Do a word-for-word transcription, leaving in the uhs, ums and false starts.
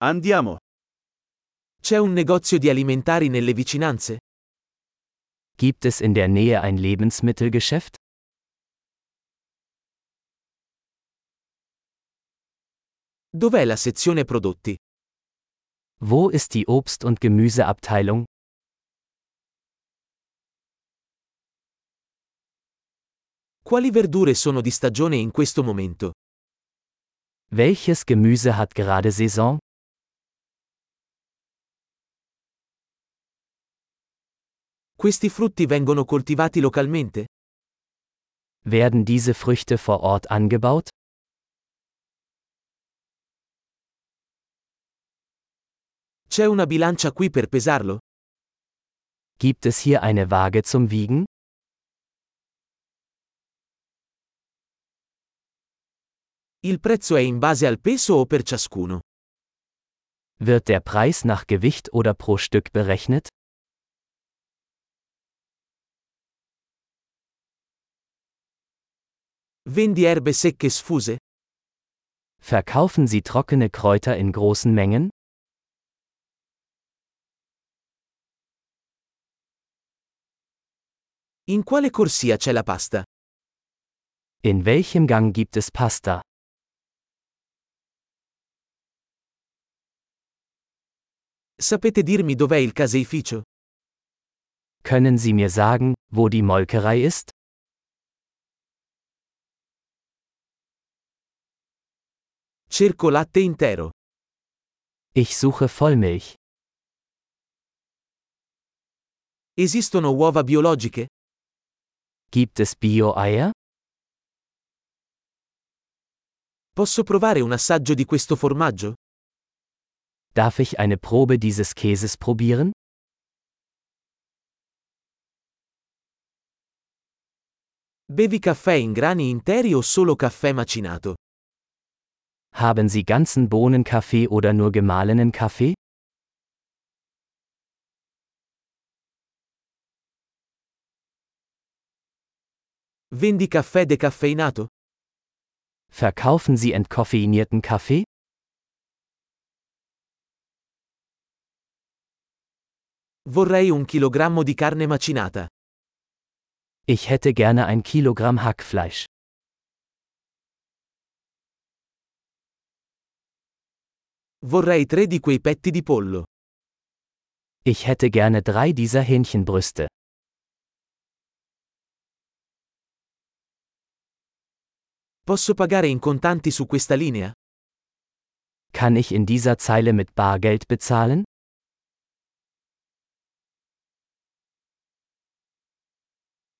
Andiamo. C'è un negozio di alimentari nelle vicinanze? Gibt es in der Nähe ein Lebensmittelgeschäft? Dov'è la sezione prodotti? Wo ist die Obst- und Gemüseabteilung? Quali verdure sono di stagione in questo momento? Welches Gemüse hat gerade Saison? Questi frutti vengono coltivati localmente? Werden diese Früchte vor Ort angebaut? C'è una bilancia qui per pesarlo? Gibt es hier eine Waage zum Wiegen? Il prezzo è in base al peso o per ciascuno? Wird der Preis nach Gewicht oder pro Stück berechnet? Vendi erbe secche sfuse? Verkaufen Sie trockene Kräuter in großen Mengen? In quale corsia c'è la pasta? In welchem Gang gibt es Pasta? Sapete dirmi dov'è il caseificio? Können Sie mir sagen, wo die Molkerei ist? Cerco latte intero. Ich suche Vollmilch. Esistono uova biologiche? Gibt es Bio-Eier? Posso provare un assaggio di questo formaggio? Darf ich eine Probe dieses Käses probieren? Bevi caffè in grani interi o solo caffè macinato? Haben Sie ganzen Bohnenkaffee oder nur gemahlenen Kaffee? Vendi caffè decaffeinato? Verkaufen Sie entkoffeinierten Kaffee? Vorrei un chilogrammo di carne macinata. Ich hätte gerne ein Kilogramm Hackfleisch. Vorrei tre di quei petti di pollo. Ich hätte gerne drei dieser Hähnchenbrüste. Posso pagare in contanti su questa linea? Kann ich in dieser Zeile mit Bargeld bezahlen?